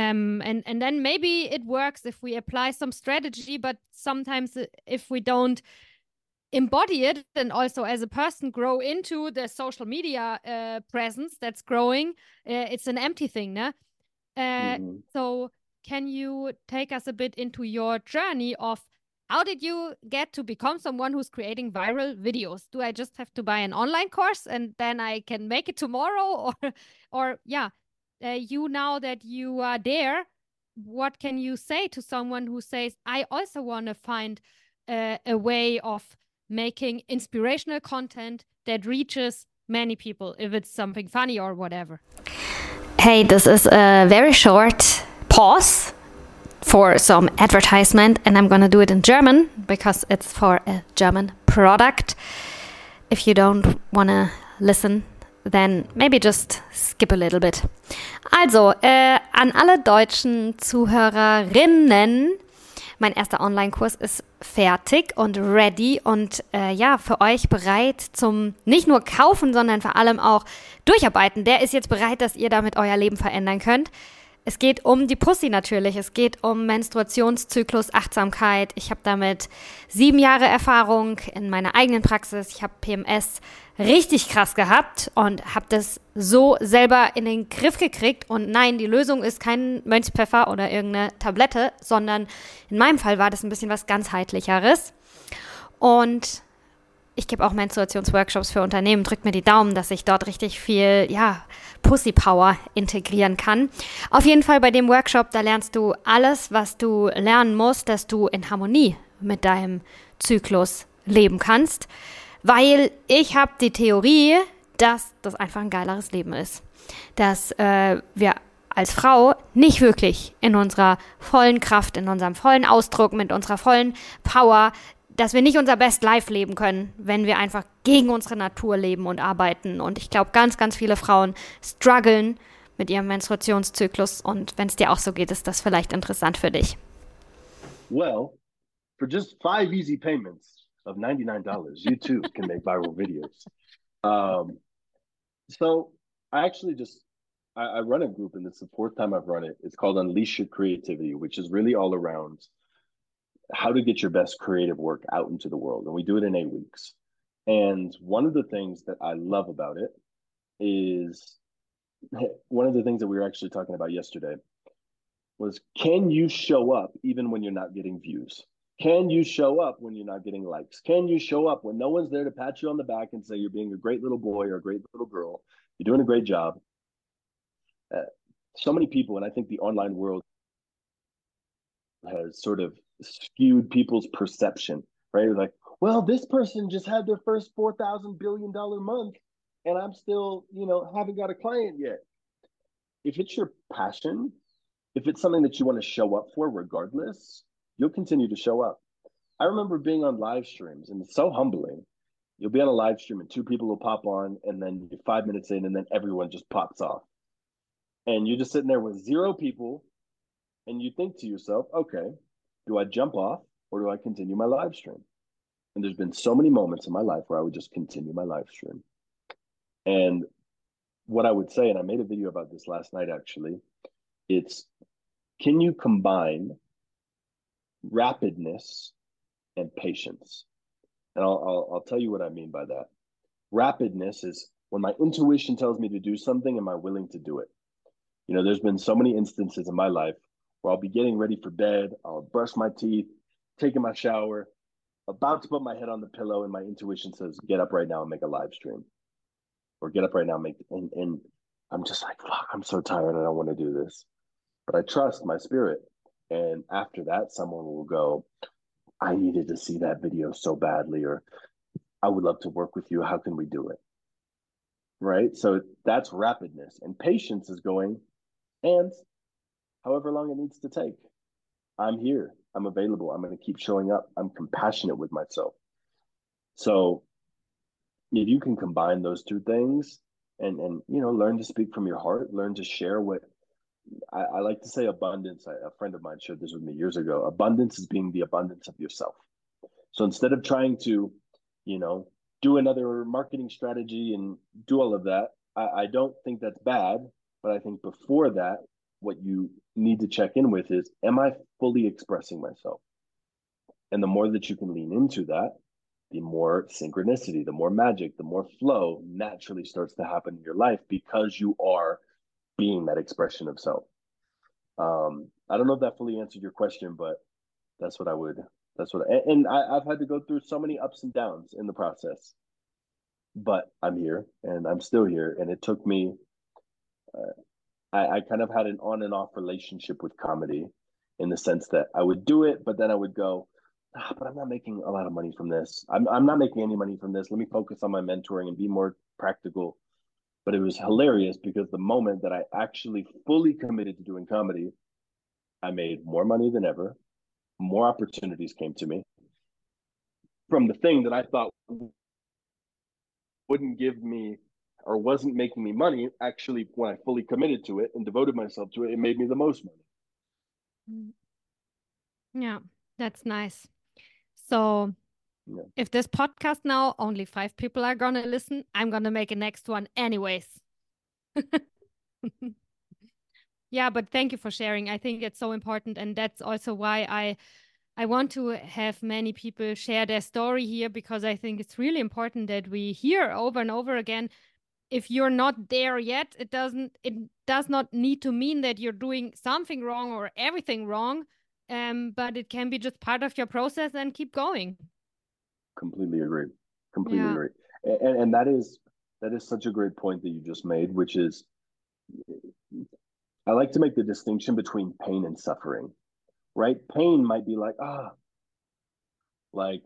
And then maybe it works if we apply some strategy, but sometimes if we don't embody it and also as a person grow into the social media presence that's growing, it's an empty thing, né? Mm-hmm. So can you take us a bit into your journey of how did you get to become someone who's creating viral videos? Do I just have to buy an online course and then I can make it tomorrow? Or yeah, you now that you are there, what can you say to someone who says, I also want to find a way of making inspirational content that reaches many people, if it's something funny or whatever? Hey, this is a very short pause for some advertisement, and I'm gonna do it in German because it's for a German product. If you don't wanna listen, then maybe just skip a little bit. Also, an alle deutschen Zuhörerinnen, mein erster Online-Kurs ist fertig und ready und ja, für euch bereit zum nicht nur kaufen, sondern vor allem auch durcharbeiten. Der ist jetzt bereit, dass ihr damit euer Leben verändern könnt. Es geht um die Pussy natürlich. Es geht um Menstruationszyklus, Achtsamkeit. Ich habe damit 7 Jahre Erfahrung in meiner eigenen Praxis. Ich habe PMS richtig krass gehabt und habe das so selber in den Griff gekriegt. Und nein, die Lösung ist kein Mönchspfeffer oder irgendeine Tablette, sondern in meinem Fall war das ein bisschen was ganzheitlicheres. Und ich gebe auch Menstruationsworkshops für Unternehmen. Drückt mir die Daumen, dass ich dort richtig viel, ja, Pussy Power integrieren kann. Auf jeden Fall bei dem Workshop, da lernst du alles, was du lernen musst, dass du in Harmonie mit deinem Zyklus leben kannst. Weil ich habe die Theorie, dass das einfach ein geileres Leben ist. Dass wir als Frau nicht wirklich in unserer vollen Kraft, in unserem vollen Ausdruck, mit unserer vollen Power, dass wir nicht unser Best Life leben können, wenn wir einfach gegen unsere Natur leben und arbeiten. Und ich glaube, ganz, ganz viele Frauen strugglen mit ihrem Menstruationszyklus. Und wenn es dir auch so geht, ist das vielleicht interessant für dich. Well, for just 5 easy payments of $99, you too can make viral videos. So I actually I run a group, and it's the 4th time I've run it. It's called Unleash Your Creativity, which is really all around how to get your best creative work out into the world. And we do it in 8 weeks. And one of the things that I love about it is one of the things that we were actually talking about yesterday was, can you show up even when you're not getting views? Can you show up when you're not getting likes? Can you show up when no one's there to pat you on the back and say you're being a great little boy or a great little girl? You're doing a great job. So many people, and I think the online world has sort of skewed people's perception, right? Like, well, this person just had their first $4,000 billion month, and I'm still, haven't got a client yet. If it's your passion, if it's something that you want to show up for regardless, you'll continue to show up. I remember being on live streams, and it's so humbling. You'll be on a live stream and 2 people will pop on, and then you're 5 minutes in, and then everyone just pops off. And you're just sitting there with 0 people, and you think to yourself, okay, Do I jump off or do I continue my live stream? And there's been so many moments in my life where I would just continue my live stream. And what I would say, and I made a video about this last night actually, it's can you combine rapidness and patience? And I'll tell you what I mean by that. Rapidness is when my intuition tells me to do something, am I willing to do it? You know, there's been so many instances in my life where I'll be getting ready for bed, I'll brush my teeth, taking my shower, about to put my head on the pillow, and my intuition says, get up right now and make a live stream. Or get up right now and and I'm just like, fuck, I'm so tired, I don't want to do this. But I trust my spirit. And after that, someone will go, I needed to see that video so badly, or I would love to work with you. How can we do it? Right. So that's rapidness. And patience is going, and however long it needs to take, I'm here. I'm available. I'm going to keep showing up. I'm compassionate with myself. So if you can combine those two things and you know, learn to speak from your heart, learn to share what I like to say abundance. A friend of mine shared this with me years ago. Abundance is being the abundance of yourself. So instead of trying to, you know, do another marketing strategy and do all of that, I don't think that's bad. But I think before that, what you need to check in with is, am I fully expressing myself? And the more that you can lean into that, the more synchronicity, the more magic, the more flow naturally starts to happen in your life because you are being that expression of self. I don't know if that fully answered your question, but that's what I would. That's what. And I've had to go through so many ups and downs in the process, but I'm here and I'm still here. And it took me. I kind of had an on and off relationship with comedy, in the sense that I would do it, but then I would go, but I'm not making a lot of money from this. I'm not making any money from this. Let me focus on my mentoring and be more practical. But it was hilarious because the moment that I actually fully committed to doing comedy, I made more money than ever. More opportunities came to me from the thing that I thought wouldn't give me or wasn't making me money. Actually, when I fully committed to it and devoted myself to it, it made me the most money. Mm. Yeah, that's nice. So Yeah. if this podcast now only 5 people are gonna listen, I'm gonna make a next one anyways. Yeah, but thank you for sharing. I think it's so important, and that's also why I want to have many people share their story here, because I think it's really important that we hear over and over again. If you're not there yet, it does not need to mean that you're doing something wrong or everything wrong. But it can be just part of your process and keep going. Completely agree. Completely Yeah. agree. And that is such a great point that you just made, which is I like to make the distinction between pain and suffering. Right? Pain might be like, like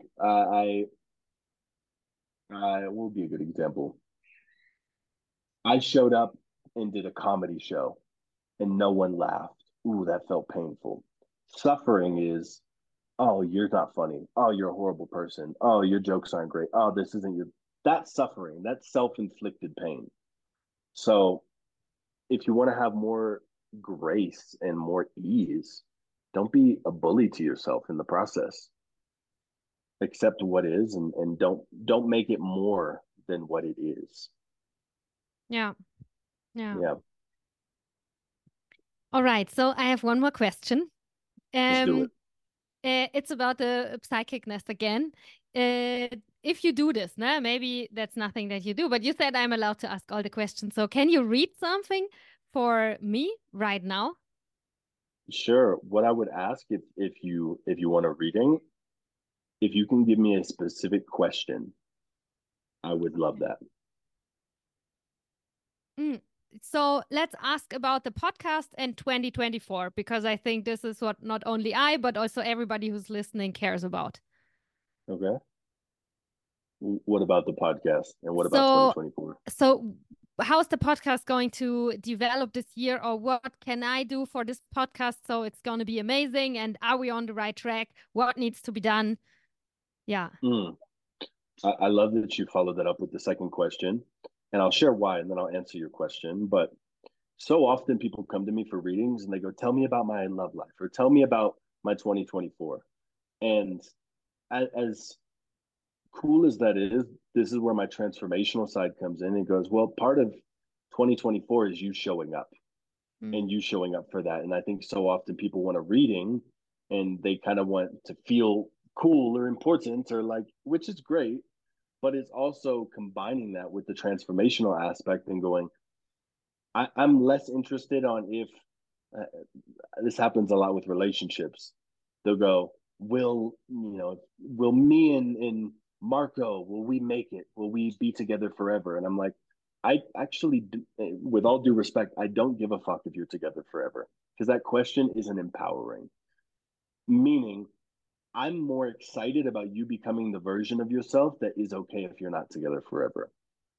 I will be a good example. I showed up and did a comedy show and no one laughed. Ooh, that felt painful. Suffering is, oh, you're not funny. Oh, you're a horrible person. Oh, your jokes aren't great. Oh, this isn't your. That's suffering. That's self-inflicted pain. So if you want to have more grace and more ease, don't be a bully to yourself in the process. Accept what is and don't make it more than what it is. Yeah. Yeah. Yeah. All right. So I have one more question. Let's do Um, it. it's about the psychicness again. Uh, if you do this, nah, maybe that's nothing that you do, but you said I'm allowed to ask all the questions. So can you read something for me right now? Sure. What I would ask if you want a reading, if you can give me a specific question, I would love that. Mm. So let's ask about the podcast and 2024, because I think this is what not only I, but also everybody who's listening cares about. Okay. What about the podcast and what about So, 2024? so how's the podcast going to develop this year, or what can I do for this podcast so it's going to be amazing? And are we on the right track? What needs to be done? Yeah. Mm. I love that you followed that up with the second question, and I'll share why, and then I'll answer your question. But so often people come to me for readings and they go, "Tell me about my love life," or "Tell me about my 2024. And as cool as that is, this is where my transformational side comes in. It goes, well, part of 2024 is you showing up and you showing up for that. And I think so often people want a reading and they kind of want to feel cool or important or like, which is great, but it's also combining that with the transformational aspect and going, I'm less interested on if uh, this happens a lot with relationships. They'll go, will me and Marco, will we make it? Will we be together forever? And I'm like, I actually, with all due respect, I don't give a fuck if you're together forever because that question isn't empowering. Meaning, I'm more excited about you becoming the version of yourself that is okay if you're not together forever.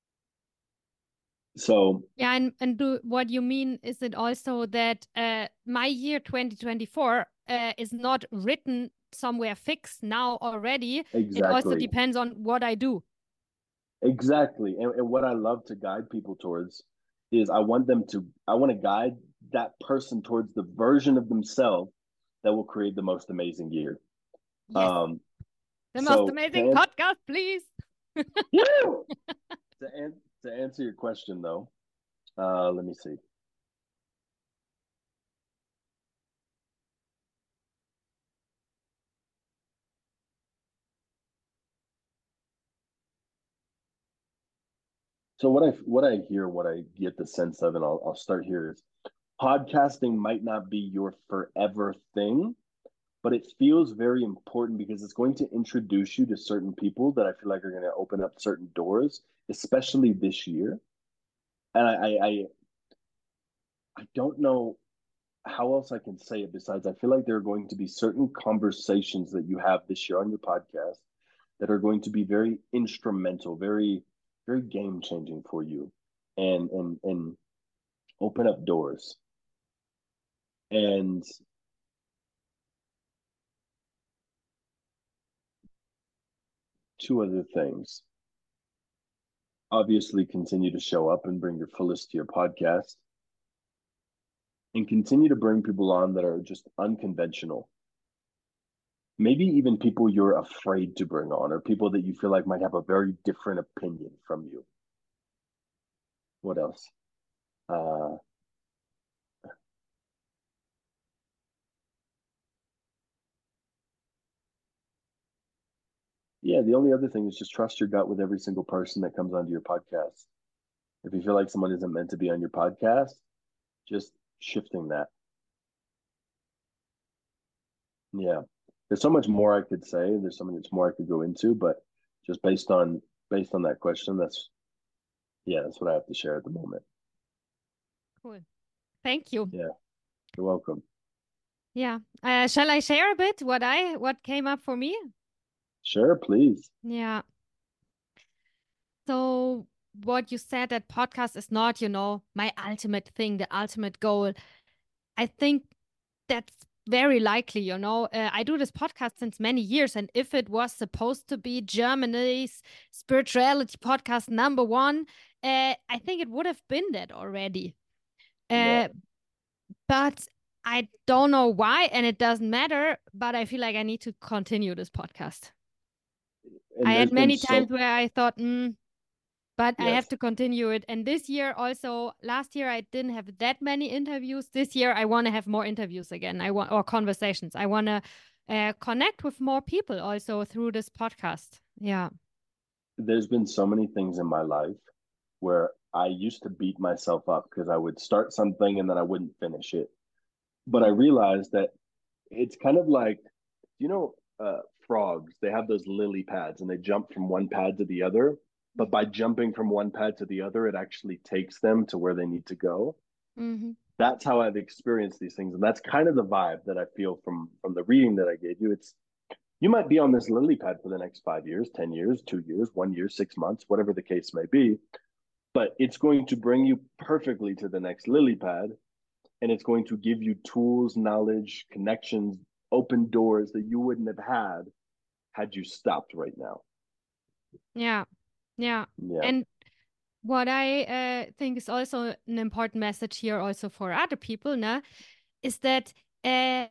So Yeah, and what you mean is it also that my year 2024 is not written somewhere fixed now already. It also exactly, depends on what I do. exactly. And what I love to guide people towards is I want to guide that person towards the version of themselves that will create the most amazing year. Yes, Um, the most so amazing podcast, please. yeah, to answer your question though, let me see. So what I hear, what I get the sense of, and I'll start here is podcasting might not be your forever thing, but it feels very important because it's going to introduce you to certain people that I feel like are going to open up certain doors, especially this year. And I don't know how else I can say it besides I feel like there are going to be certain conversations that you have this year on your podcast that are going to be very instrumental, very game changing for you, and open up doors. And two other things. Obviously, continue to show up and bring your fullest to your podcast and continue to bring people on that are just unconventional. Maybe even people you're afraid to bring on or people that you feel like might have a very different opinion from you. What else? Uh, yeah, the only other thing is just trust your gut with every single person that comes onto your podcast. If you feel like someone isn't meant to be on your podcast, just shifting that. Yeah. There's so much more I could say. There's so much more I could go into, but just based on that question, that's what I have to share at the moment. Cool. Thank you. Yeah, you're welcome. Yeah. Shall I share a bit what came up for me? Sure, please. Yeah. So what you said that podcast is not, my ultimate thing, the ultimate goal. I think that's very likely, I do this podcast since many years, and if it was supposed to be Germany's spirituality podcast number one, I think it would have been that already. Yeah. But I don't know why, and it doesn't matter, but I feel like I need to continue this podcast. I And had there's been many times so where I thought, but I have yes, to continue it. And this year also, last year I didn't have that many interviews. This year I want to have more interviews again. Or conversations. I want to connect with more people also through this podcast. Yeah. there's been so many things in my life where I used to beat myself up because I would start something and then I wouldn't finish it. But I realized that it's kind of like, you know, frogs, they have those lily pads and they jump from one pad to the other. But by jumping from one pad to the other, it actually takes them to where they need to go. Mm-hmm. That's how I've experienced these things. And that's kind of the vibe that I feel from the reading that I gave you. It's you might be on this lily pad for the next 5 years, 10 years, 2 years, 1 year, 6 months, whatever the case may be. But it's going to bring you perfectly to the next lily pad. And it's going to give you tools, knowledge, connections, open doors that you wouldn't have had you stopped right now. Yeah. Yeah. Yeah. And what I think is also an important message here, also for other people, is that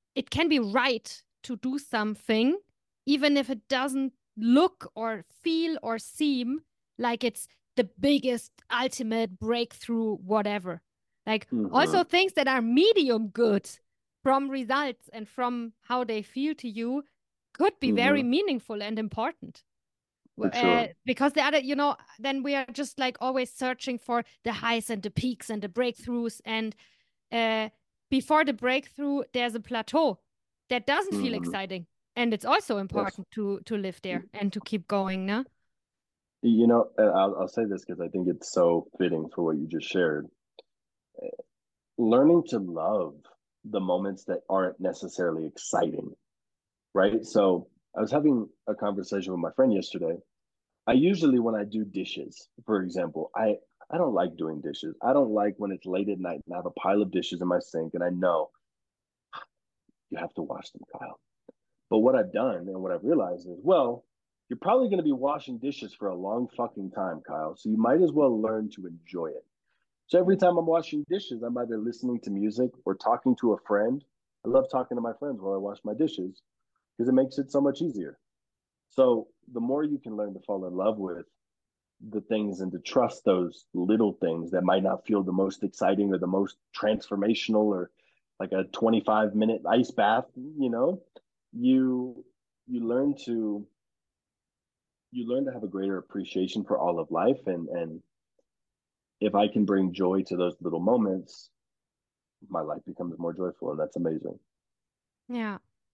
it can be right to do something, even if it doesn't look or feel or seem like it's the biggest, ultimate breakthrough, whatever. Like also things that are medium good from results and from how they feel to you could be very meaningful and important. Sure. Because the other, then we are just like always searching for the highs and the peaks and the breakthroughs. And before the breakthrough, there's a plateau that doesn't feel exciting. And it's also important to live there and to keep going, no? I'll say this because I think it's so fitting for what you just shared. Learning to love the moments that aren't necessarily exciting, right? So I was having a conversation with my friend yesterday. I usually, when I do dishes, for example, I don't like doing dishes. I don't like when it's late at night and I have a pile of dishes in my sink and I know you have to wash them, Kyle. But what I've done and what I've realized is, well, you're probably going to be washing dishes for a long fucking time, Kyle. So you might as well learn to enjoy it. So every time I'm washing dishes, I'm either listening to music or talking to a friend. I love talking to my friends while I wash my dishes because it makes it so much easier. So the more you can learn to fall in love with the things and to trust those little things that might not feel the most exciting or the most transformational or like a 25-minute ice bath, you learn to have a greater appreciation for all of life. And if I can bring joy to those little moments, my life becomes more joyful, and that's amazing. Yeah.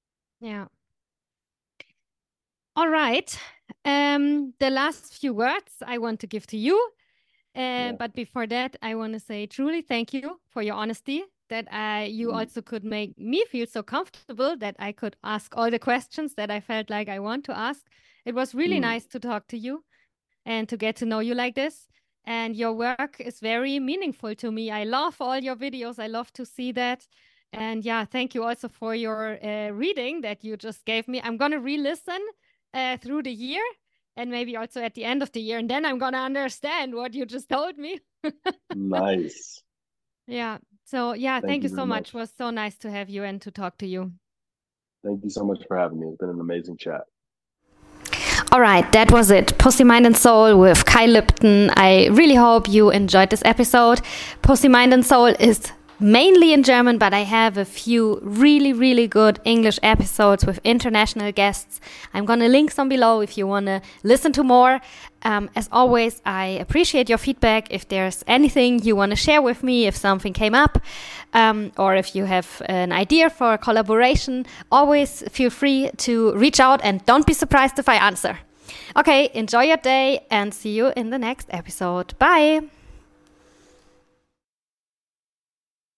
All right. The last few words I want to give to you. But before that, I want to say truly thank you for your honesty, that you also could make me feel so comfortable that I could ask all the questions that I felt like I want to ask. It was really nice to talk to you and to get to know you like this. And your work is very meaningful to me. I love all your videos. I love to see that. And yeah, thank you also for your reading that you just gave me. I'm going to re-listen through the year and maybe also at the end of the year. And then I'm going to understand what you just told me. Nice. Yeah. So yeah, thank you so much. It was so nice to have you and to talk to you. Thank you so much for having me. It's been an amazing chat. All right, that was it. Pussy, Mind and Soul with Kyle Lipton. I really hope you enjoyed this episode. Pussy, Mind and Soul is mainly in German, but I have a few really, really good English episodes with international guests. I'm going to link some below if you want to listen to more. As always, I appreciate your feedback. If there's anything you want to share with me, if something came up, or if you have an idea for a collaboration, always feel free to reach out and don't be surprised if I answer. Okay, enjoy your day and see you in the next episode. Bye!